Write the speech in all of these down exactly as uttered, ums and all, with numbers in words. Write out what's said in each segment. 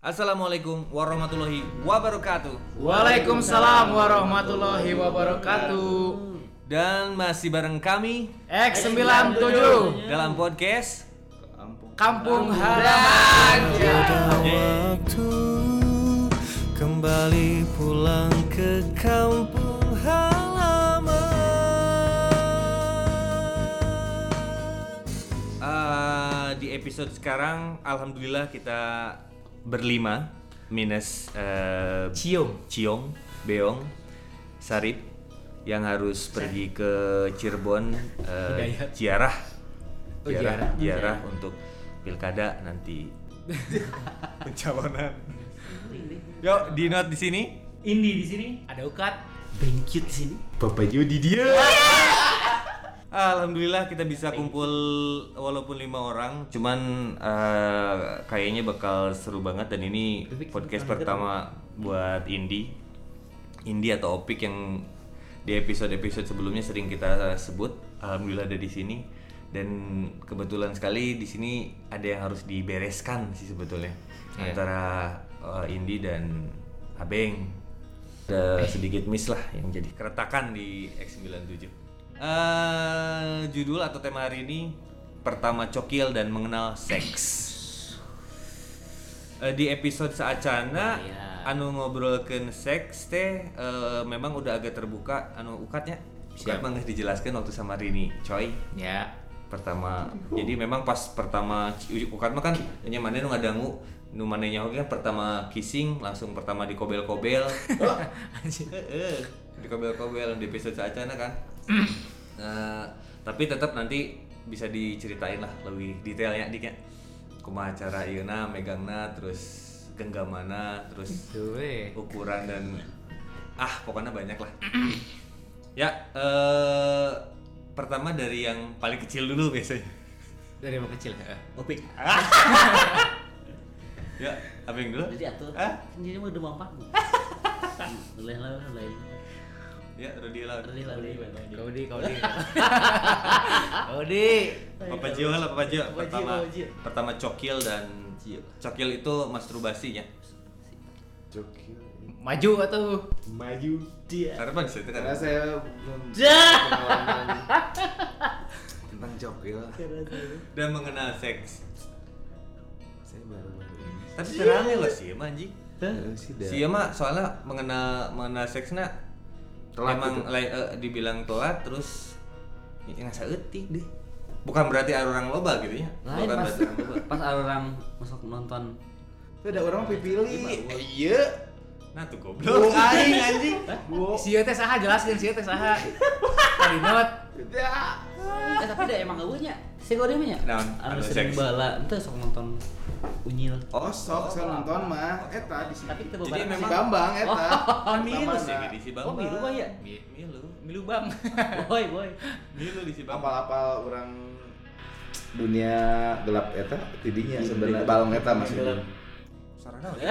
Assalamualaikum warahmatullahi wabarakatuh. Waalaikumsalam warahmatullahi wabarakatuh. Dan masih bareng kami X sembilan puluh tujuh dalam podcast Kampung Halaman. Waktu kembali pulang ke kampung halaman. Uh, di episode sekarang alhamdulillah kita berlima minus uh, Cium, Ciong, Beong, Sarip yang harus pergi ke Cirebon, uh, ziarah, Oh, ziarah, ziarah. ziarah untuk pilkada nanti. Pencalonan. Yuk, di note di sini. Indi di sini, ada Ukat, Bengkit di sini. Bapak Jody dia. Alhamdulillah kita bisa kumpul walaupun lima orang, cuman uh, kayaknya bakal seru banget dan ini podcast pertama buat Indi, Indi atau Opik yang di episode-episode sebelumnya sering kita sebut. Alhamdulillah ada di sini dan kebetulan sekali di sini ada yang harus dibereskan sih sebetulnya yeah. antara uh, Indi dan Abeng. Ada sedikit miss lah yang jadi keretakan di X sembilan puluh tujuh. Uh, judul atau tema hari ini pertama cokil dan mengenal seks. Uh, di episode saacana oh, iya. anu ngobrolkeun seks teh uh, memang udah agak terbuka anu ukatnya. Ukat mah geus dijelaskeun waktu sama Rini, coy. Ya. Pertama, jadi memang pas pertama ukat mah kan nya maneh nu ngadangu nu manehnya oge kan pertama kissing langsung pertama dikobel-kobel. Heeh. Dikobel-kobel di episode saacana kan. Uh, tapi tetap nanti bisa diceritain lah lebih detailnya diknya kumaha cara ieuna megangna terus genggamana terus ukuran dan ah pokoknya banyak lah. Ya uh, pertama dari yang paling kecil dulu biasanya. Dari yang kecil ya. Opik. Ya, Abeng dulu. Jadi atuh. Ah? Ini mah udah mampat. Lain lain lain. Ya, Rudi lah. Rudi lah. Kau di, kau di. Kau di. Papa Jio lah, Papa Jio. Papa Jio, Pertama, Papa Jio. pertama cokil dan cokil itu masturbasinya. Cokil. Maju atau Maju dia. Karena apa bisa Karena kan? saya belum Dah. pengalaman tentang cokil. Dan mengenal seks. Saya baru-baru ini. Tapi terangnya loh sih, emang anjing. Eh, sih dah. Si mah soalnya mengenal mengenal seksnya Telat emang gitu. lai- eh, dibilang telat terus ya ngasa eutik deh. Bukan berarti orang loba gitu ya. Lain Bukan pas berarti orang loba. pas orang masuk nonton. Itu ada orang pipili. Iya. Nah tuh Duh, goblok. aing anjing. Duh. si teh saha jelaskeun si teh saha. Tadi not. Tidak. Eh tapi dah emang eueuhnya. Si gede mah nya. Naon? Anu Anu sering seks. bala, ente sok nonton Unyil. Oh, sok saya nonton mah eta di sini. Tapi teu Jadi beberapa memang- Si Bambang eta. Kan milu Pertama sih na. di si Oh, Bambang. milu mah ya? Mi- Milu. Milu Bang. Boy boy. Milu di si Bambang. Apal-apal orang dunia gelap eta tidinya sebenarnya balong eta masih Gelap. Sarana ya.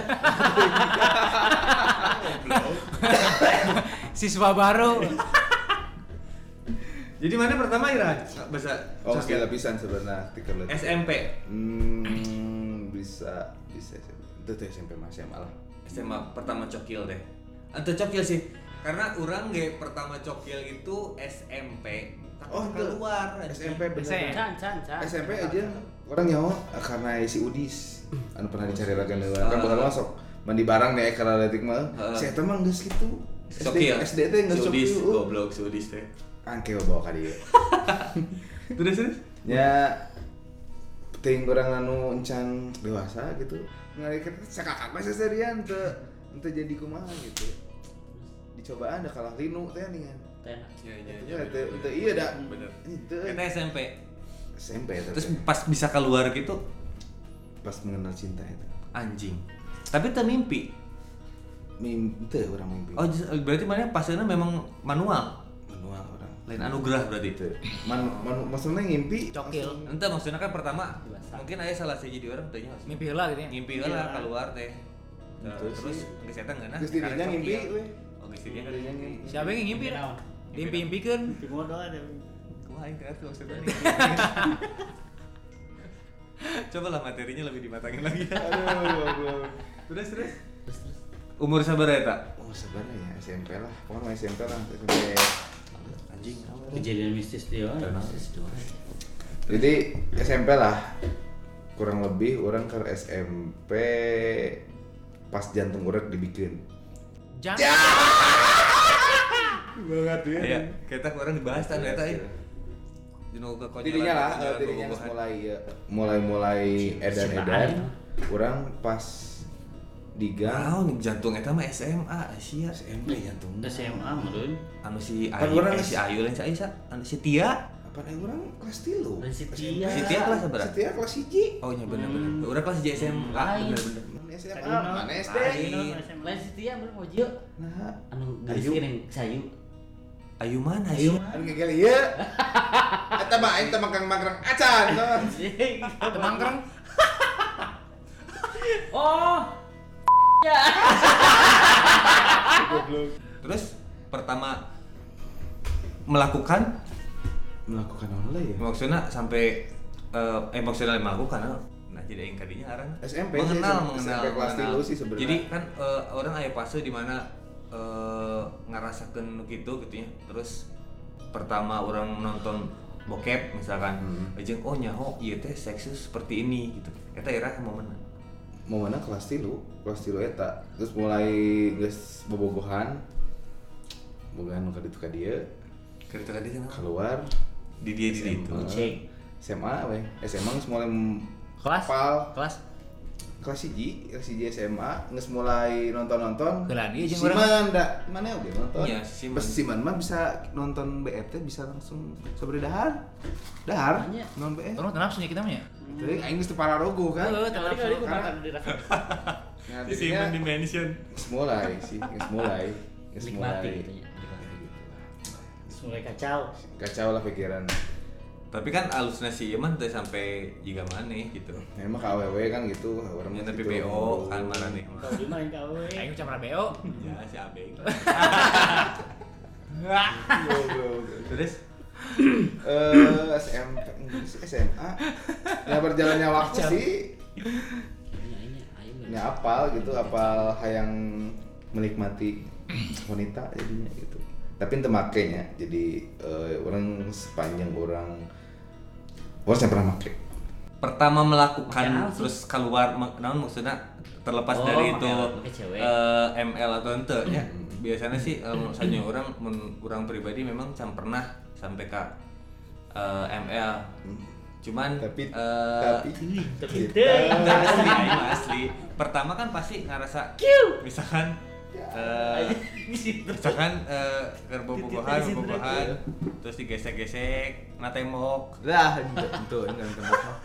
Siswa baru. Jadi mana pertama Ira? Bahasa Oh, segala pisan sebenarnya tiker S M P. Hmm, bisa bisa itu tuh S M P masih malah. S M A pertama cokil deh. Atau cokil sih. Karena orang ge pertama cokil itu S M P. Tapi Oh, itu. keluar S M P bener. Can can can. S M P aja orang nyawa karena si Udis anu pernah dicari ragan heula kan bakal masuk mandi barang nih karena letik mah Heeh. saya teh mah geus kitu Cokil. S D teh geus Sudis, cokil goblok Sudis teh. angke bawa ka dieu Terus terus. nya teuing urang anu encan dewasa gitu ngali kita sakakak mah seserian teu teu jadi kumaha gitu dicobaan da kalah linu teh ningan Teh. Ya ya teu teu ieu da Bener. itu Kita S M P. S M P eta Terus teh. pas bisa keluar gitu pas mengenal cinta itu anjing. Tapi teu mimpi. mimpi teu urang mimpi Oh, just- berarti mana pasnya memang manual. manual orang Lain anugerah berarti itu. itu man, man, maksudnya ngimpi Cokil. Ente maksudnya kan pertama Dewasa. mungkin aya salah siji di orang tanya Mimpi heula gitu ya. ngimpi lah keluar teh. Nah, Itu terus sih. geus eta ngeunah. Terus dirinya karena ngimpi cokil. we. Oh, geus dirinya kan Dirinya ngimpi. ngimpi. Siapa yang ngimpi? Naon? Dimpi-impikeun. Di modal ada. Kumaha aing teh maksudnya nih. Coba lah materinya lebih dimatangin lagi. Aduh, goblok. Terus terus. Umur sabar eta? Oh sebenarnya ya S M P lah, pokoknya S M P lah, S M P Anjing. Kejadian mistis dia. Mistis doang. Jadi S M P lah, kurang lebih orang ke S M P pas jantung orang dibikin. Jangan. Banget ya. Iya, kita orang dibahas kan eta ya. Dino ke Dirinya lah, dirinya mulai ya, mulai-mulai edan-edan. Orang pas di gang. Naon jantung eta mah S M A sia. S M P jantung. S M A meureun. Anu si Kan Ayu, orang eh, si Ayu lain si Ayu sa, anu si Tia. Apa nih orang kelas tilu? Dan si Tia. Si Tia kelas berapa? Si Tia kelas hiji. Oh iya bener bener. Urang kelas S M A Lain. bener bener. Mana S M A? Mana S D? Lain si Tia bener Mojo. Nah, Anu Ayu. geus kiring sayu. Ayu mana Ayu. sih? anu ngegel ieu. Eta mah aing teh mangkrang-mangkrang acan. Temangkrang. Oh. Ya. Terus pertama melakukan Melakukan apa ya? maksudnya sampai eh, eh maksudnya melakukan nah jadi yang kadinya arang S M P sih, mengenal S M P mengenal kelas mengenal. tilu sih sebenarnya. Jadi kan eh, orang aya fase di mana eh, ngarasakeun gitu gitu ya. Terus pertama orang menonton bokep misalkan Hmm. jeung oh nyaho ieu teh seksnya seperti ini gitu. Eta era momen. Momenna kelas tilu, kelas tilu eta. Terus mulai geus bobogohan. Bobogohan nu ka ditu ka dieu, Kereta tadi kan keluar di dia di itu. Cek. S M A we. S M A geus mulai Kelas. hafal. Kelas. Kelas hiji, kelas hiji S M A geus mulai nonton-nonton. Heula dia jeung Siman urang. da, mana oge nonton. Iya, Siman. Pas Siman mah bisa nonton B F T bisa langsung sabari dahar. Dahar, Banyak. non B F. Urang teu nafsu nya kita mah ya. Jadi aing geus teu pararogo kan. Heeh, teu Tadi nafsu. kali ku Karena- makan di rasa. Nah, Di Simon jadinya Dimension. geus mulai sih, geus mulai. Geus Nikmati mulai. gitu ya. Mulai kacau. Kacau lah pikiran. Tapi kan alusna si ieu mah teh sampai jiga maneh gitu. Memang K W W kan gitu, orang Ya mah tapi gitu. B O kan marane. Kau di mana kau? Aing macam B O. Ya si Abeng. Goblok. Terus Eh, S M P, S M A. Ya berjalannya waktu Kacau. sih. Ini ini ayo. Ya apal gitu, apal hayang menikmati wanita jadinya gitu. Tapi ente makainya, jadi eh, orang sepanjang orang orang saya pernah make. pertama melakukan Makan sih. terus keluar mak- naon maksudnya terlepas Oh, dari make- itu make cewek. eh, M L atau ente ya. Hmm. Biasanya sih um, misalnya orang men, orang pribadi memang can pernah sampai ke eh, M L. Cuman Tapi eh, tapi Tapi kita- teh. enggak asli, aing mah asli. Pertama kan pasti ngerasa misalkan eh, misalkan eh, keur bobogohan, bobogohan, terus digesek-gesek, na tembok. Lah, itu itu enggak tembok mah.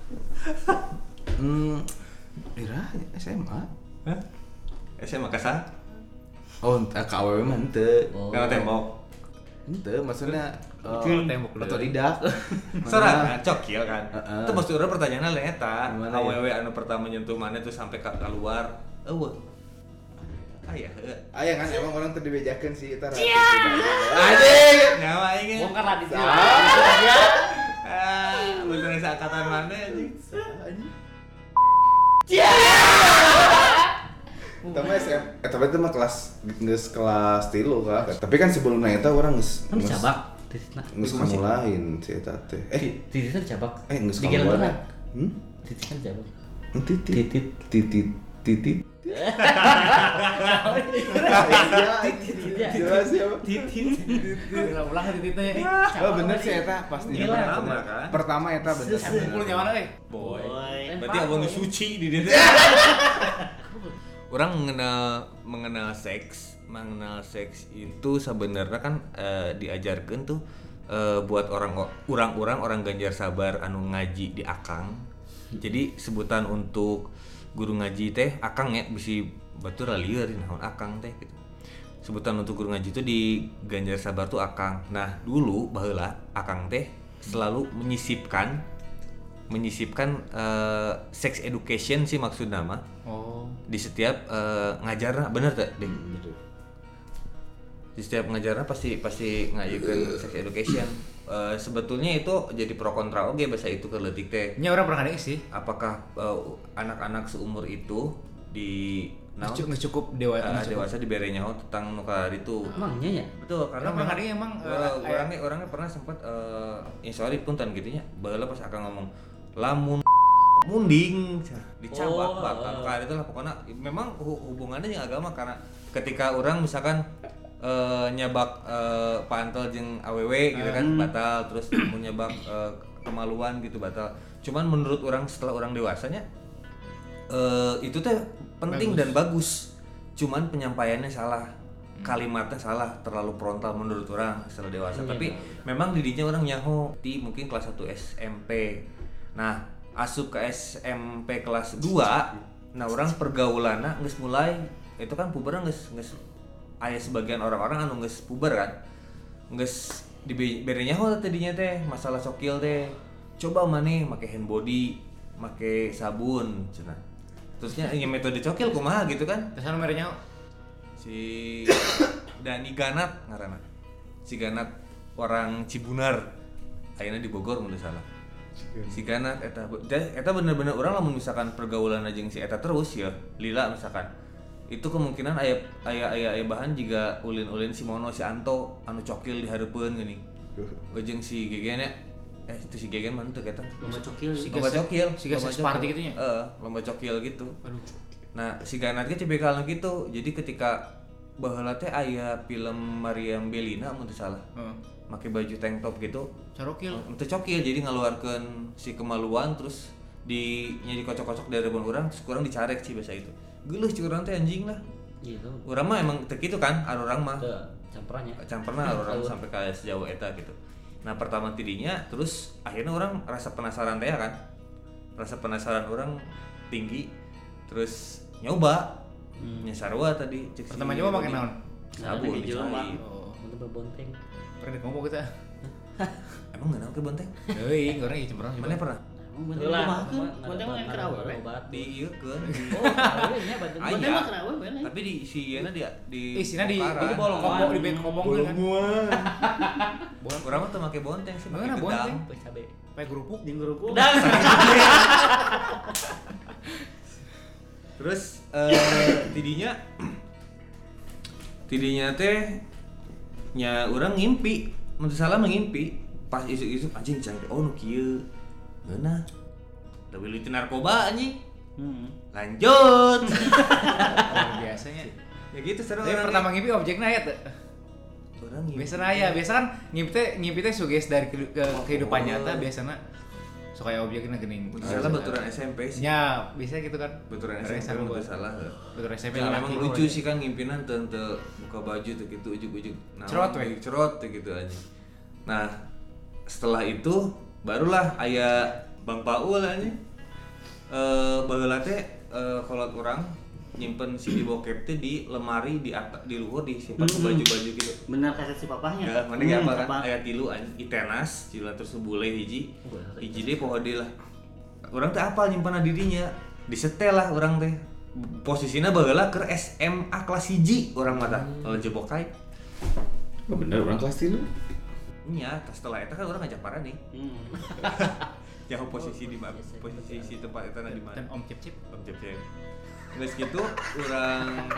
Hmm, ira S M A. Hah? S M A kasar? Oh, entah K W W mah henteu. Oh. Karena tembok. Henteu maksudnya eh, Itu tembok dulu. otodidak. Soalnya cokil kan. Heeh. Itu maksud urang pertanyaanna lain eta. Gimana A W ya? W anu pertama nyentuh mana tuh sampai ka keluar. Eueuh. Aya heuh. Aya kan emang orang teu dibejakeun sih eta ratus tidak. Anjing. Nyawa aing. Bongkar lah di sini. Ah, bener seangkatan mana anjing. Tapi S M, eh tapi itu mah kelas geus kelas tilu kan. Tapi kan sebelumnya eta orang geus Kan geus- cabak. Titisna. geus kamulain si eta teh. Eh, Titisna cabak. eh geus Di jalan kamulain. mana? Hmm? Titisna cabak. Titit Titit. titit titit. Tidak. Jelas ya, Pak. Ulang-ulang titiknya. Eh, Oh bener sih eta pasti. Gila. Pertama kan. Pertama eta bener. Kumpul nyawa euy. Boy. Boy. Berarti abang suci di dia. Orang mengenal mengenal seks, mengenal seks itu sebenarnya kan eh, diajarkan tuh eh, buat orang orang-orang orang Ganjar Sabar anu ngaji di Akang. Jadi sebutan untuk guru ngaji teh Akang ya bisi batur lieur naon Akang teh gitu. Sebutan untuk guru ngaji itu di Ganjar Sabar tuh Akang. Nah, dulu baheula Akang teh selalu menyisipkan menyisipkan eh, sex education sih maksud nama Oh. di setiap uh, ngajarna bener tak deh di setiap ngajarna pasti pasti ngajukeun sex education. Uh, sebetulnya itu jadi pro kontra oge bahasa itu keleutik teh Nya orang pernah ada sih. apakah uh, anak-anak seumur itu di Nggak cukup, nggak cukup dewasa. uh, dewasa dibere nyaho tentang nu itu. Emangnya ya? Betul, karena Emang hari emang uh, orangnya orangnya pernah sempat uh, ya sorry punten gitu nya. Baheula pas akan ngomong lamun munding dicabak Oh, bakal uh. ka itu lah pokoknya memang hubungannya jeung agama karena ketika orang misalkan uh, nyabak uh, pantel jeung awewe gitu kan Hmm. batal terus mau nyabak uh, kemaluan gitu batal. Cuman menurut orang setelah orang dewasanya uh, itu teh penting Bagus. dan bagus. Cuman penyampaiannya salah, kalimatnya salah, terlalu frontal menurut orang setelah dewasa. Iya, Tapi benar. memang didinya orang nyaho di mungkin kelas satu S M P. Nah, asup ke S M P kelas dua, nah orang pergaulanna geus mulai itu kan puber geus geus aya sebagian orang-orang anu geus puber kan. Geus dibere nyaho tadinya teh masalah sokil teh. Coba maneh make hand body, make sabun cenah. Terusnya ya metode cokil kumaha gitu kan. Terus anu merenya Si Dani Ganat ngaranna. Si Ganat orang Cibunar. Ayeuna di Bogor mun teu salah. Si Ganat eta eta bener-bener orang lamun misalkan pergaulan jeung si eta terus ya, lila misalkan. Itu kemungkinan aya aya aya, aya bahan juga ulin-ulin si Mono si Anto anu cokil di hareupeun geuning. Jeung si Gegen nya eh itu si Gegen mana tuh kata Lomba cokil. Si lomba Gas- cokil si Gas lomba Party cokil. gitu nya? Heeh, lomba cokil gitu. Aduh. Nah, si Ganat ge cebekal gitu. Jadi ketika baheula teh aya film Mariam Bellina mun teu salah. Heeh. Make baju tank top gitu. Carokil. Teu cokil jadi ngaluarkeun si kemaluan terus di nya dikocok-kocok dari rebon urang terus kurang dicarek sih biasa itu. Geuleuh ci urang teh anjing lah. Gitu. Urang mah emang teu kitu kan, anu urang mah. Teu campurannya. Camperna orang sampai kayak sejauh eta gitu. Nah pertama tidinya terus akhirnya orang rasa penasaran teh kan, rasa penasaran orang tinggi, terus nyoba, Hmm. nyasarwa tadi. cek si Pertama nyoba pakai Dodi. naon? Sabun di jelema. dicai. Oh. Untuk berbonteng. Pernah ngomong kita. Emang nggak naon ke bonteng? Euy, orang ieu cemberang. Mana pernah? Emang bonteng Heula, mah kan? bonteng mah yang kerawe, we. obat. Di iya kan. Oh, kerawe nya bonteng. Ah, Bonteng iya. mah kerawe bener. Tapi di si Iena dia di. Ih, sina di Pokaran. di bolong Bolongan. ngomong di bek ngomong kan. Bolong. Orang mah tuh make bonteng sih, make Mana gedang. bonteng? Geus cabe. Pakai kerupuk. Jeung gerupuk. Dah. Terus eh tidinya tidinya teh nya urang ngimpi, mun teu salah ngimpi pas isuk-isuk anjing cang oh nu kieu. Geuna. Da wilih teu narkoba anjing. Hmm. Lanjut. Luar biasanya. Ya gitu seru Tapi orang. pertama ngimpi objeknya aya teh. Orang ngimpi. Biasana aya, biasa kan ngimpi teh ngimpi teh suges dari ke, ke kehidupan nyata biasana sok aya objekna geuning. Salah baturan S M P sih. Ya, bisa gitu kan. Baturan Orang S M P sarua. mun teu salah. Baturan S M P. Ya, laki memang lu lucu aja. sih kan ngimpinan teu teu buka baju tuh gitu ujuk-ujuk. Nah, Cerot, we. cerot tuh gitu aja. Nah, setelah itu barulah aya Bang Paul anjing. Eh baheula teh eh kolot urang nyimpen C D bokep teh di lemari di atas di luhur disimpan Hmm. baju-baju gitu. Bener kaset si papahnya. Ya, mana ge apa kan? apa? Aya tilu anjing itenas, cila terus bule hiji. Hiji deh poho deui lah. Urang teh apal nyimpanna dirinya. Disetel lah urang teh. Posisina baheula keur S M A kelas hiji urang mah tah. Lalu jebok kai. Oh, bener orang kelas tilu. Nya, setelah eta kan urang ngajak para nih. Hmm. Jauh posisi di mana? Biasa, Posisi si tempat eta di mana? Dan Om Cip Cip Om Cep Cep. Geus kitu urang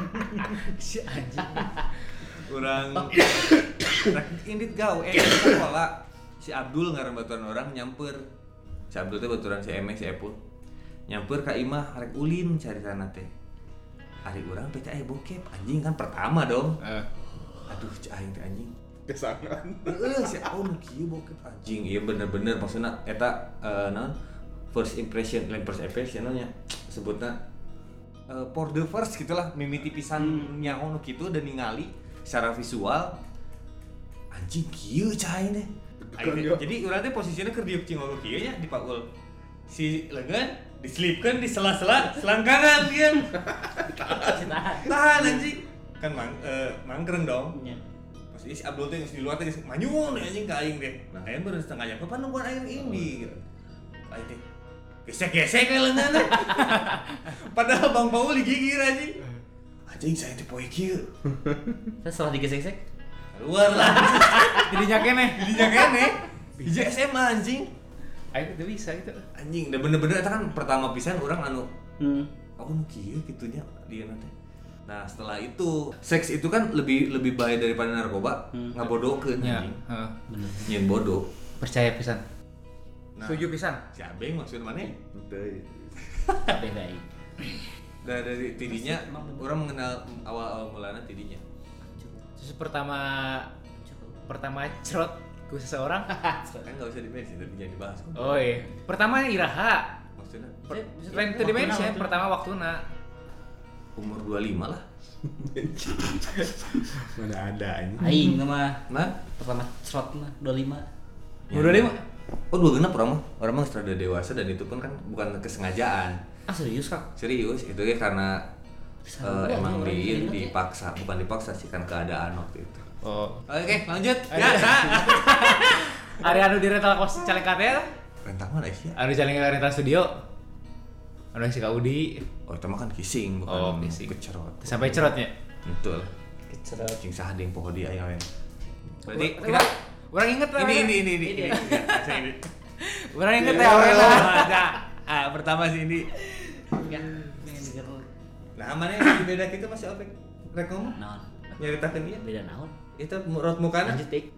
si anjing. urang rek indit gawe eh sekolah. Si Abdul ngaran baturan orang nyamper. Si Abdul teh baturan si Eme si Epul. Nyamper ka imah rek ulin cari sana teh. Ari urang teh aya bokep anjing kan pertama dong. Eh, Aduh cai aing teh anjing. Kesangan. Heeh si oh nu kieu bokep anjing. Ieu bener-bener maksudna eta eh naon first impression, lain first impression nya sebutna eh, for the first gitulah mimiti pisan nyaho nu kitu dan ningali secara visual anjing kieu cai teh. Aing teh- Jadi urang teh posisinya keur diuk cingol kieu nya di paul. Si leungeun diselipkeun di sela-sela selangkangan dia. Tahan anjing. Kan mang eh, mangkreng dong. Nya. Pas si Abdul teh geus di luar teh geus manyun anjing ka aing teh. Nah, aing baru setengah jam kapan nungguan aing ini gitu. Aing teh gesek-gesek we leungeun. Padahal Bang Paul digigir anjing. Anjing saya teh poe kieu. Terus setelah digesek-gesek, Keluar lah. jadinya keneh. Didinya kene. Hiji S M A anjing. Ayo itu bisa gitu. Anjing, udah bener-bener eta kan pertama pisan urang anu hmm. oh nu kieu gitunya dia nanti. Nah setelah itu seks itu kan lebih lebih bahaya daripada narkoba, hmm. ngabodokeun Ya, anjing. heeh. Nyeun bodoh. Percaya pisan. Nah, Setuju pisan. si Abeng maksud mana? Teu. Beda ini. Nah, dari tidinya orang mengenal awal-awal mulanya tidinya. Terus pertama pertama cerot ku seseorang. Kan enggak usah dimensi tapi jangan dibahas. Oh iya. Pertama iraha. Maksudnya Per- Lain teu dimensi ya, pertama waktuna. umur dua puluh lima lah. Mana ada anjing. Aing mah Nah, pertama cerot mah dua puluh lima. Umur dua puluh lima. oh dua genap orang mah. Orang mah sudah dewasa dan itu pun kan bukan kesengajaan. Ah serius Kak? Serius, itu ya karena Bisa eh, gua emang orang di, inget ya. dipaksa, bukan dipaksa sih kan keadaan waktu itu. Oh. Oke, lanjut. Ya, sa. Ari anu di rental kos Calengkate teh. Rental mana sih? Anu Calengkate rental studio. Anu si Kaudi. Oh, itu mah kan kissing, bukan Oh, kissing. kecerot. Sampai cerotnya. Betul. Kecerot. Cing saha deung poho di aya we. Berarti Kita kita orang inget lah. ini ini ini ini. ini. Ya, saya ini. Orang inget ya orang lah. Nah, ah, pertama sih ini. Ya, pengen denger Nah, mana yang beda kita masih opek rek ngomong? naon. Nyaritakeun ieu. Beda naon. Itu raut mukana. Lanjut Dik.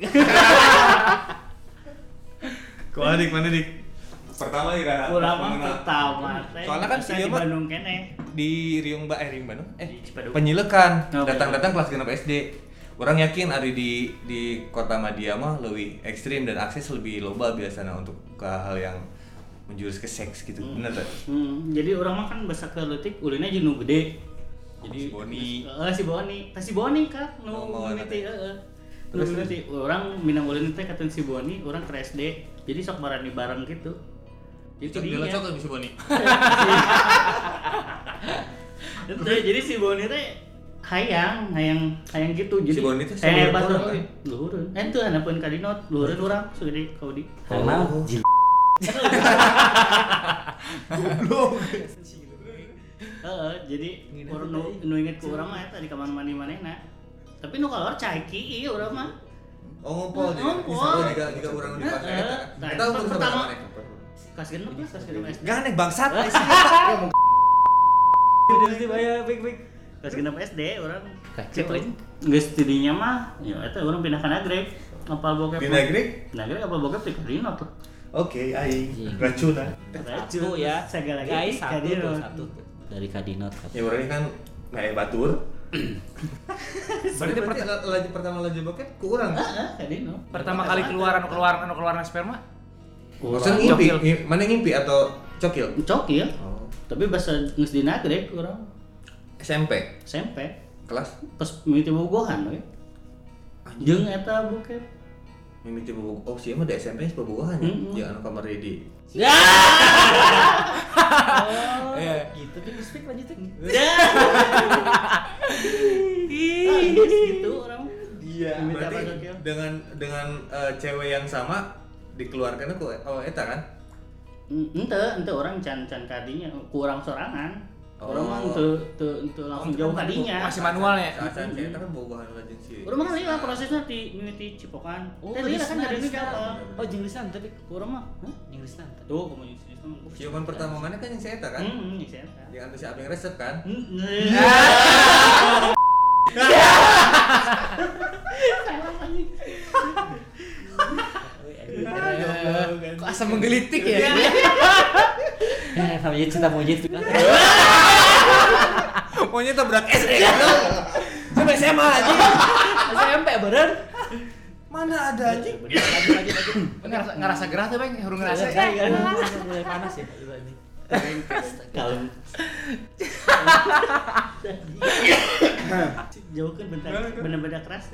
Kumaha dik mana dik? Pertama ira. Urang mah pertama teh. Soalnya kan bisa si dia di mah- Bandung kene. Di Riung Ba eh Riung Bandung eh Di Cipaduk. penyilekan Oh, datang-datang kelas genep S D. Orang yakin ari di di kota Madia mah lebih ekstrim dan akses lebih loba biasanya untuk ke hal yang menjurus ke seks gitu. Hmm. Bener tak? Hmm, jadi orang mah kan basa ke leutik ulina jeung nu gede. Jadi Si Boni. Heeh, si Boni. Tah si Boni kan nu Oh, mau mimiti anak. heeh. Nu Terus, mimiti urang minang ulin teh katen si Boni, urang ke S D. Jadi sok barani bareng gitu. Jadi Bila dinya. cocok bisa Boni. Teh, jadi si Boni teh hayang, hayang, hayang gitu. Jadi Si Boni teh hayang seluruh batur orang, kan? luhureun. Eh teu anapeun kadinot, luhureun urang segede Kaudi. Karena Oh. jil. Heeh, jadi urang nu nu inget ku urang mah eta di kamar mandi manehna. Tapi nu kalor caiki ieu urang mah. Oh ngumpul jadi. Ngumpul. Bisa jika jika orang di pasar Heeh. eta. Nah, Kita umur pertama- sama mana? Kelas genep lah, kelas genep S D. Gak aneh bangsat. Udah sih bayar baik-baik. Kelas genep S D urang Kacau aing. geus tidinya mah ya eta urang pindah ka Nagreg. Apal bokep. Pindah Nagreg? Nagreg apal bokep di Kadino tuh. Oke, aing Anjing. racunan. Satu ya. Segala Guys, satu tuh Kadino. satu tuh. Dari Kadinot. Ya orang ini kan kayak batur. Berarti Berarti la- laju pertama laju bokep ku urang. Heeh, Kadino. Pertama kali keluar anu keluar anu keluar sperma. Maksudnya ngimpi, Cokil. Ngi- mana ngimpi atau cokil? Cokil. Oh. Tapi bahasa geus di Nagreg urang S M P S M P kelas pas mimiti bogohan we. Jeung eta bokep. mimiti bobo. Oh, sih mah di S M P bobogohan ya. Mm-mm. Ya anu kamar ready. Ya. Oh, Iya. gitu kan speak lanjutin. Ah, geus gitu urang. Iya. Mimiti apa Berarti cokil? dengan dengan eh, cewek yang sama dikeluarkannya ku oh eta kan? Ente, ente orang can can kadinya kurang sorangan. Orang mah Oh. teu teu teu langsung jauh kadinya. Masih manual ya. Saat saya kan bobogohan lajeng sih. Urang mah lila prosesnya di mimiti cipokan. Oh, Teh lila kan dari gelisna, apa? Oh, jenglisna tapi Urang mah, hah? jenglisna. Tuh, kamu jenis jenis mah. Ciuman pertama mana kan yang saya eta kan? Hmm, ini saya. tahu. Yang anu si Abeng resep kan? Kok asam menggelitik ya? Eh, namanya cinta monyet tuh kan. Pokoknya tabrak S D. Sampai S M A aja. S M P beren. Mana ada anjing? Lanjut lanjut lanjut. Ngerasa ngerasa gerah tuh, Bang. Hurung ngerasa. Mulai panas ya. Kalem. Jauhkan bentar, bener-bener keras.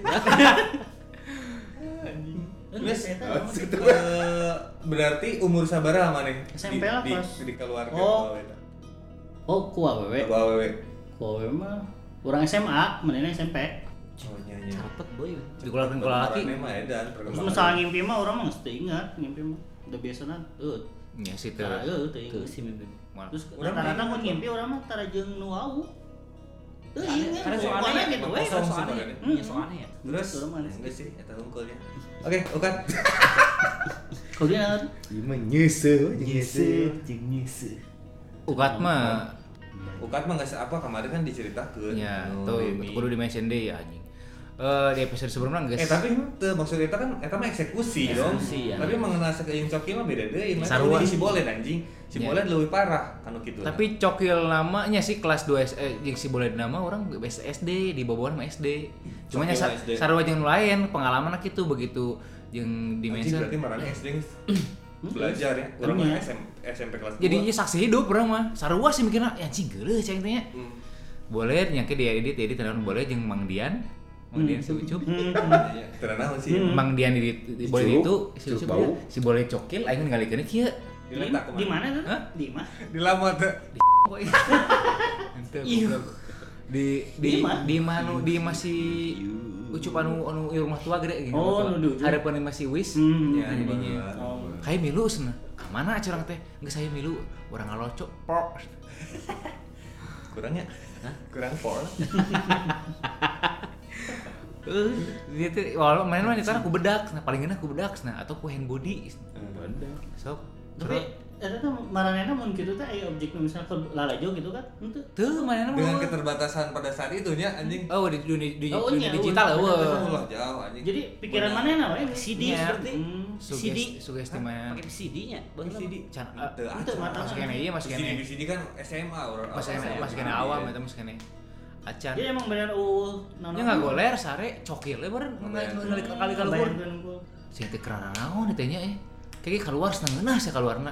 Terus Eta, eh, berarti umur sabaraha maneh? S M P lah, di, pas. di, di keluarga Oh. awalnya. Oh, ku awewe. Ku awewe. Ku awewe mah urang S M A, menena S M P. Oh nyanyi. Carpet boy. Dikeluarkan ke laki. Perkembangannya mah edan, Terus perkembangan. masalah ngimpi mah orang mah geus teu ingat, ngimpi mah udah biasana eueuh. Ya sih tuh. Tara eueuh teu Tuh ingat. si mimpi. Terus Urang rata-rata mah mun ingat. ngimpi urang mah tara jeung nu wau. Teu ingat. Karena Pokoknya soalnya gitu we. kosong sih soalnya. makanya. Iya soalnya ya. Terus Urang mah enggak sih eta hungkulnya. Oke, ukat. Kemudian Ieu mah nyeuseum, nyeuseum. jeung nyeuseum. Ugat mah Ukat mah geus apa kemarin kan diceritakeun. Ya, Nu tuh ini. kudu dimention deui ya anjing. Eh di episode sebelumnya geus. Eh tapi henteu maksud eta kan eta mah eksekusi dong. Eksekusi, ya. Tapi mengenal sakeung cokil mah beda deui. Mah Sarua. di si Bolet anjing. Si Ya. Bolet leuwih parah kanu kitu. Tapi cokil namanya sih kelas dua S eh, jeung si boleh nama orang S D di bawah mah S D. Cuma nya Cokil S D. sarua jeung lain pengalaman kitu begitu jeung Anjing dimension. berarti marane S D geus belajar ya. Urang mah S M S M P kelas dua. Jadinya saksi hidup orang mah. Sarua sih mikirna ya anjing geuleuh ceng teh nya. Hmm. Boleh nyangke dia edit edit tenan boleh jeung Mang Dian. Mang Dian si Ucup. Iya, teu naon sih. Mang Dian di di- boleh Ucup, itu si Ucup Ucup bau. dia, si boleh cokil aing ngalikeun kieu. Diletak Di mana tuh? Hah? Di mana? Di lamot teh. Ente Iu. goblok. Di di Di mana? di mana di masih Ucup anu anu ieu rumah tua gede gitu. Oh, nu di ujung. Harapan masih wis. Hmm. Ya jadinya. Oh. Kayak milu cenah. Ka mana curang teh? Geus saya milu, urang ngaloco. Pok. Kurangnya. Kurang pol. Eh, dia teh walau main mah nyetana ku bedak, nah paling enak ku bedak nah atau ku hand body. Sok. Tapi eta tuh maranena mun kitu teh aya objek nu misalnya ke lalajo gitu kan. Henteu. Teu mana Dengan mah. keterbatasan pada saat itu nya anjing. Oh di dunia, dunia, Oh, dunia iya, digital iya. eueuh. Allah jauh anjing. Jadi pikiran manehna we C D Iya. berarti. Hmm. C D. Sugesti sugesti mah. Pakai C D-nya. Bang C D. Can Teu Henteu, acan. mata masuk kene ieu masuk C D kene. di sini kan S M A orang. Masuk kene masuk kene awam eta masuk kene. Acan. Jadi emang bener uh naon. Nya ngagoler sare cokil we beureun ngali kali kali luhur. Sing teh kerana naon teh nya eh. Kayak keluar setengah sih keluarna.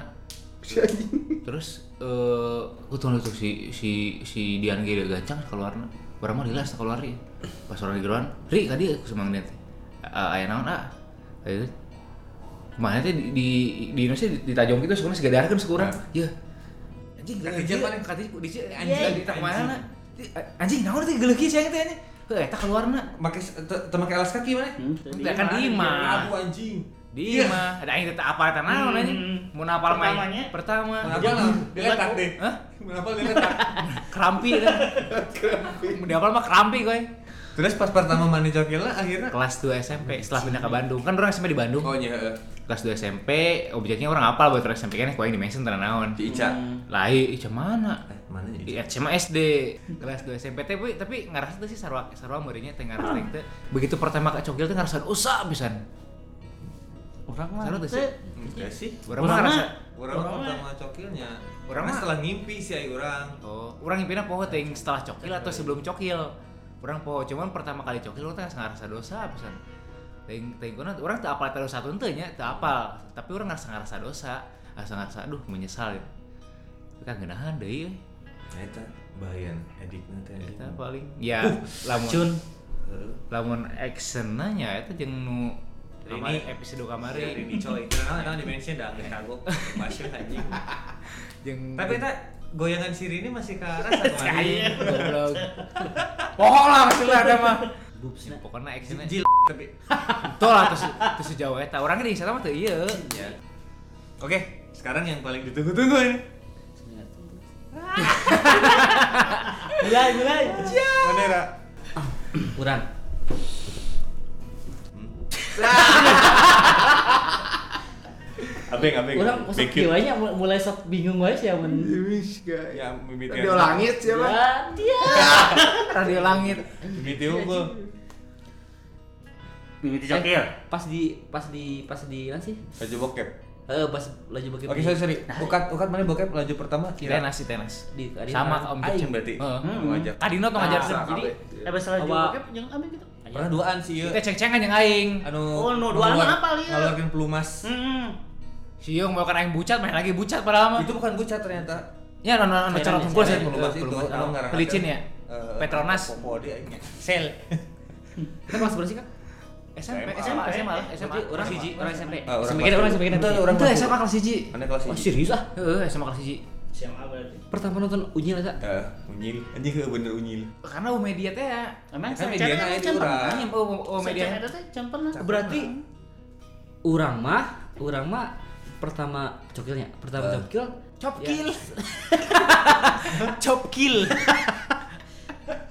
Terus eh kutu nutup si si si Dian ge gancang keluarna. Barang mah rilas keluar ieu. Pas orang di geroan, "Ri, ka dieu ku semang dia teh." Aya naon ah? Aya Kumaha teh di di di Indonesia ditajong kitu sukurna sigadarkeun sukurang. Yeuh. Anjing Kati geuleuh jam kieu mana? kati di anjing di tak mana? Anjing naon teh geuleuh kieu cenah teh nya. Heuh eta keluarna. Make teu make alas kaki mana? Enggak kan di imah. Abu anjing. Di imah. Ada aing teh apa eta naon Hmm. anjing? Mun apal main Pertamanya. pertama. Kenapa lah? Diletak deh. Hah? Kenapa diletak? Kerampi kan. Di apal mah kerampi koy. Terus pas pertama mandi cokil lah akhirnya. Kelas dua S M P setelah pindah ke Bandung. Kan orang S M P di Bandung. Oh iya. heeh. Kelas dua S M P objeknya orang apal buat S M P kan koe di mention tenan naon. Di Ica. Lah Ica mana? Eh, mana ya? Iya, cuma S D kelas dua S M P teh tapi tapi ngarasa tuh sih sarua sarua muridnya teh ngarasa teh begitu pertama ke cokil teh ngarasa usah pisan. Orang mah Sarua tuh sih. teh Enggak sih. Urang mah ngarasa Orang Orang mah mah- pertama cokilnya. Orang Orang mah- setelah ngimpi sih ay urang. oh, urang ngimpinya poho teh setelah cokil atau sebelum cokil. Urang poho cuman pertama kali cokil urang teh ngarasa dosa pisan. Teh teh kuna urang teu apal dosa teu teu nya teu apal, tapi urang ngarasa ngarasa dosa, ngarasa ngarasa aduh menyesal. Tapi kan geunahan deui. Nah, eta bayan edikna teh. Eta paling ya lamun Cun. Heeh. lamun actionna nya eta jeung nu Ini kamari episode kamari ini coy. Karena kan dimensi dah geus kagok. Masuk anjing. jeung Tapi eta goyangan siri ini masih ke arah kemarin. goblok. Poho lah masih ada mah. Boobsna. Pokoknya actionnya Jil tapi. tol lah terus terus sejauh eta. Orangnya di sana mah teu ieu. Ya. Oke, sekarang yang paling ditunggu-tunggu ini. mulai mulai. Mana Ra? Kurang. Abeng, abeng. Kurang masuk Bekir. kieunya mulai sok bingung wae sih amun. Ya, mimiti. Radio langit siapa? Ya, dia. Radio langit. Mimiti unggul. Mimiti cokil. Pas di pas di pas di mana sih? Baju bokep. Eh pas laju bokep. Oke, sorry, sorry. Ukat, ukat mana bokep laju pertama? Tenas sih tenas. Di di- Sama Om Aing Jecem. berarti. Heeh. Hmm. Ngajak. Kadino tuh ngajar Ah, jadi Eh salah Apa? juga bokep jeung amin gitu. Pernah duaan sih ieu. kita ceng-cengan yang aing. Anu Oh, nu duaan ngeluar- mah apal ieu? Ngeluarin pelumas. Heeh. Si Yung mau kan aing bucat main lagi bucat padahal mah. Itu bukan bucat ternyata. Ya anu anu cara Cairan tungkul ya, sih Pelumas itu pelumas anu ngarang. pelicin ya. Petronas. Popo dia aing. Sel. Kita kelas berapa sih, Kak? S M P, S S M M P. A, S M A, S M A. Orang hiji, orang S M P. Ah, orang S M P kelas kita orang S M P satu. kita. Itu orang Itu kelas S M A satu. kelas hiji. Mana kelas Oh, siji? serius ah? Heeh, S M A kelas hiji. Siapa berarti? Pertama nonton Unyil eta. Eh, unyil. Anjing heuh bener unyil. Karena U media teh ya. Emang Kan saya media cara itu can urang. pernah. Anjing oh, oh media. Saya eta teh can pernah. Berarti urang mah, urang mah pertama cokilnya, pertama Eh. cokil Chop ya. kill. Chop kill.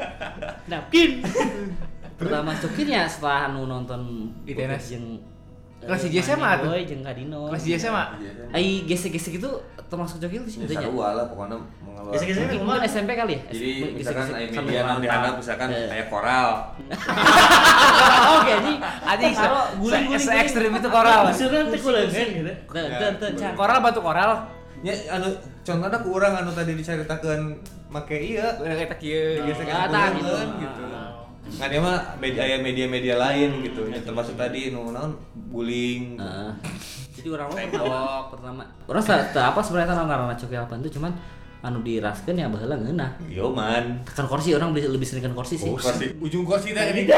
Napkin. Pertama cokilnya setelah anu nonton Di tenas. yang Kelas hiji S M A tuh. Boy jeung Kadino. Kelas hiji S M A. Ai gesek-gesek itu termasuk cokil di sini Ya sarua lah pokoknya mengeluarkan. Gesek-gesek Mungkin S M P kali ya? Jadi misalkan aya Gesek-gesek media sambil yang dianggap misalkan kayak koral. Oke anjing. Anjing se Karo guling-guling. se ekstrim itu koral. Maksudnya teh kuleungeun gitu. Teu teu teu can. Koral batu koral. Ya anu contohnya ku urang anu tadi dicaritakeun make ieu Udah kayak tak kieu. geus Ah, tah, gitu. gitu. Ngan dia mah media aya media-media lain gitu. Ya, termasuk tadi nu naon guling. Heeh. Jadi orang mah pertama pertama orang sa- teu apa sebenarnya teh ngaranna cokil apa itu cuman anu diraskeun ya baheula ngeunah. Yo man. Kan kursi orang lebih, lebih sering kan kursi sih. Kursi ujung kursi teh ini.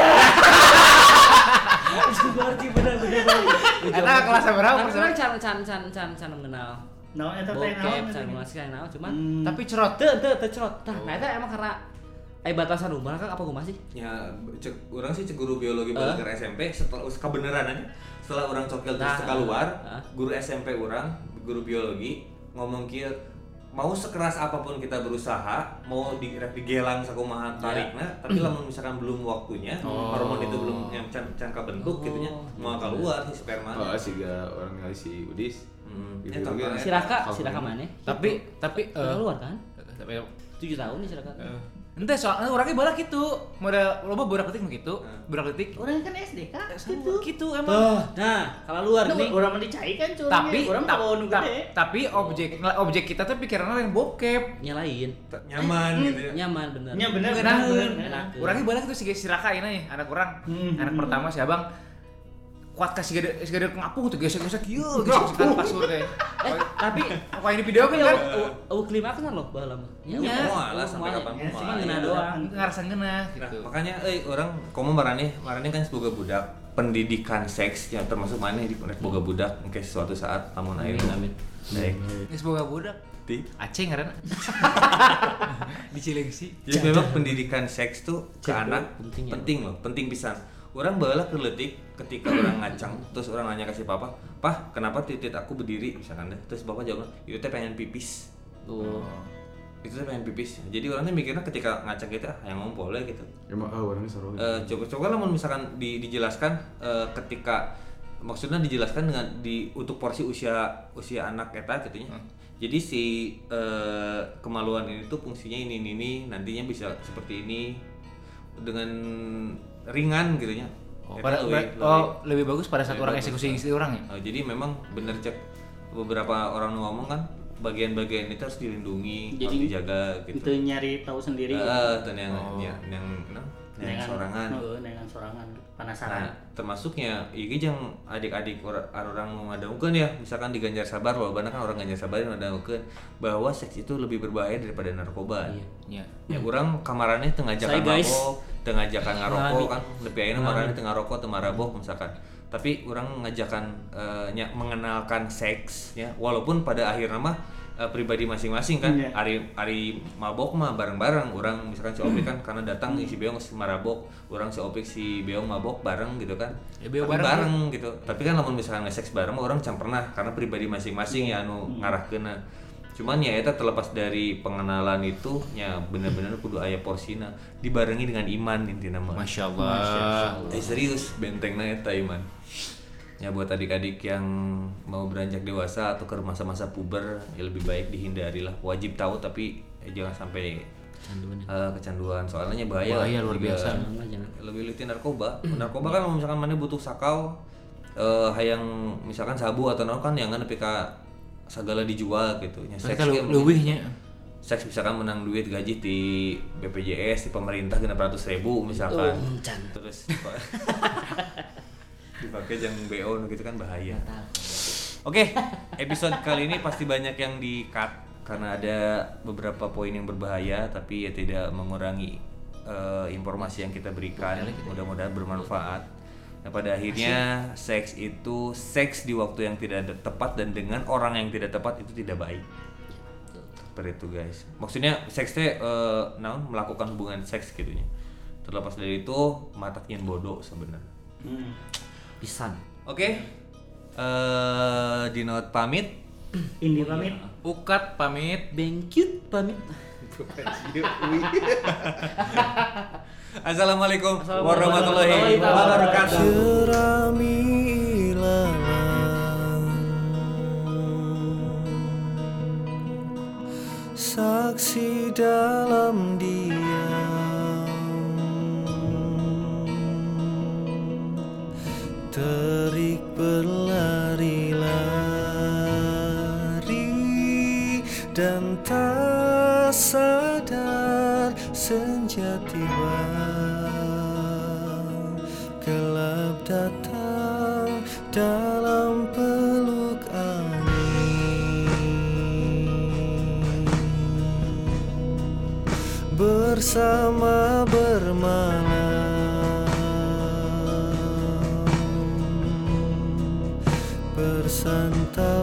Kursi bener-bener. Eta kelas berapa Tapi persen? orang can can can can can mengenal. Naon eta teh Bokep, naon? can mengenal sih naon cuman Hmm. Tapi cerot. teu teu teu cerot. Tah, nah eta emang karena aya batasan umur kan apa kumaha sih? Ya cek urang sih cek guru biologi Eh. balik ke S M P setelah kebenaran aja. Setelah orang cokil terus Nah, keluar, ah. guru S M P orang, guru biologi ngomong kieu mau sekeras apapun kita berusaha, mau di rek digelang sakumaha tarikna, tapi lamun misalkan belum waktunya, Oh. hormon itu belum yang can can kabentuk Oh. gitu nya, mau keluar si sperma. Oh, siga orang ngali si Udis. Hmm. Gitu Eh, juga. contohnya- Si Raka, si Raka mana? Tapi tapi eh, keluar kan? tapi tujuh tahun nih si Raka. ente soalnya orangnya bala gitu. Model loba budak letik nu kitu. Budak letik. Orang kan S D Kak. Gitu. Gitu emang. Tuh, nah, kalau luar Nah, nih. orang mah dicai kan curangnya. Tapi orang ta- mah nu ta- gede. tapi objek objek kita tuh pikirannya yang bokep. Nyalain. nyaman gitu ya. Nyaman bener. Nya bener bener. Ngenaheun. bener. Enak. Orangnya balik tuh si si Raka ini nih, anak orang. Hmm. Anak pertama si Abang kuat kasih gede si gede ngapung tuh gesek-gesek kieu gesek-gesekan kasur teh. Eh, tapi Apa ini video kan tapi kan? eueuh klimaks kan loh baheula mah. Iya. Moal lah sampai kapan Ya, Cuma moal. ngeuna doang. Ngarasan geuna Nah, gitu. makanya euy orang komo marane marane kan boga budak pendidikan seks yang termasuk maneh di rek boga budak mungkin suatu saat lamun aya Amin, amin. Baik. Geus boga budak. Ti. Aceh ngaranna. Di Cilengsi. Jadi memang pendidikan seks tuh ke Cek, anak penting ya. penting loh, penting pisan. Orang baheula keletik ketika orang ngacang, terus orang nanya kasih papa, "Pah, kenapa titit aku berdiri?" misalkan deh. Terus bapak jawab, "Itu teh pengen pipis." Tuh. Itu teh pengen pipis. Jadi orang tuh mikirnya ketika ngacang kita ah, yang ngompol ya gitu. Emang ah orangnya seru. Eh, coba coba lah misalkan di, dijelaskan eh, ketika maksudnya dijelaskan dengan di untuk porsi usia usia anak eta gitu nya. Jadi si eh, kemaluan ini tuh fungsinya ini ini, ini nantinya bisa seperti ini dengan ringan gitu nya. Oh, Eta pada, leuwih- oh, lebih bagus pada saat lebih orang bagus. eksekusi istri orang ya? Eh, jadi memang bener cek beberapa orang ngomong kan bagian-bagian itu harus dilindungi, harus Jadi, dijaga gitu. Itu nyari tahu sendiri. Eh, dan yang Oh. yang yang yang, yang Dengan- sorangan. Heeh, dengan sorangan. Penasaran. Nah, termasuknya iki jeung adik-adik or- orang ngadengkeun ya, misalkan di Ganjar Sabar, walaupun kan orang Ganjar Sabar ngadengkeun bahwa seks itu lebih berbahaya daripada narkoba. Iya. Ya urang kamarannya teu ngajakan Saya, guys. mabok, teu ngajakan ngarokok Ngalami. kan, lebih ayeuna marane teu ngarokok, teu marabok misalkan. Tapi urang ngajakan eh, nya- mengenalkan seks ya, walaupun pada akhirnya mah eh, pribadi masing-masing kan. Iya. Ari ari mabok mah bareng-bareng, urang misalkan si Opik kan karena datang si Beong si marabok, urang si Opik si Beong mabok bareng gitu kan. Ya, Beong Tapi bareng. bareng gitu. Tapi kan lamun misalkan nge-seks bareng mah orang can pernah karena pribadi masing-masing ya anu ngarahkeunna. Cuman ya eta terlepas dari pengenalan itu nya bener-bener kudu aya porsina dibarengi dengan iman intina mah. Masya Allah. Eh serius bentengna eta iman. Ya buat adik-adik yang mau beranjak dewasa atau ke masa-masa puber ya lebih baik dihindari lah. Wajib tahu tapi eh, jangan sampai Canduan. eh, kecanduan soalnya bahaya. Bahaya luar Juga biasa. Jangan lah, jangan. lebih leutik narkoba. Narkoba kan kalau misalkan mana butuh sakau eh hayang misalkan sabu atau naon kan yang nepi ka segala dijual gitu nya Mereka ge mungkin- leuwihnya. seks misalkan menang duit gaji di B P J S di pemerintah genep ratus ribu misalkan Oh, can. terus dipakai jang B O gitu kan bahaya. Oke, episode kali ini pasti banyak yang di cut karena ada beberapa poin yang berbahaya tapi ya tidak mengurangi eh, informasi yang kita berikan. Mudah-mudahan bermanfaat. Nah, pada akhirnya seks itu seks di waktu yang tidak ada- tepat dan dengan orang yang tidak tepat itu tidak baik. Seperti itu guys. Maksudnya seks teh eh, naon melakukan hubungan seks gitunya. Terlepas dari itu mata nyen bodoh sebenarnya. Hmm. Pisan. Oke. Eh Dinot pamit. Indi pamit. Ukat pamit. Bengkut pamit. Assalamualaikum Assalamualaikum warahmatullahi warahmatullahi wabarakatuh. Ceramilah saksi dalam diam, terik berlari-lari dan tak sadar senja tiba, gelap datang dalam peluk angin, bersama bermalam, bersantap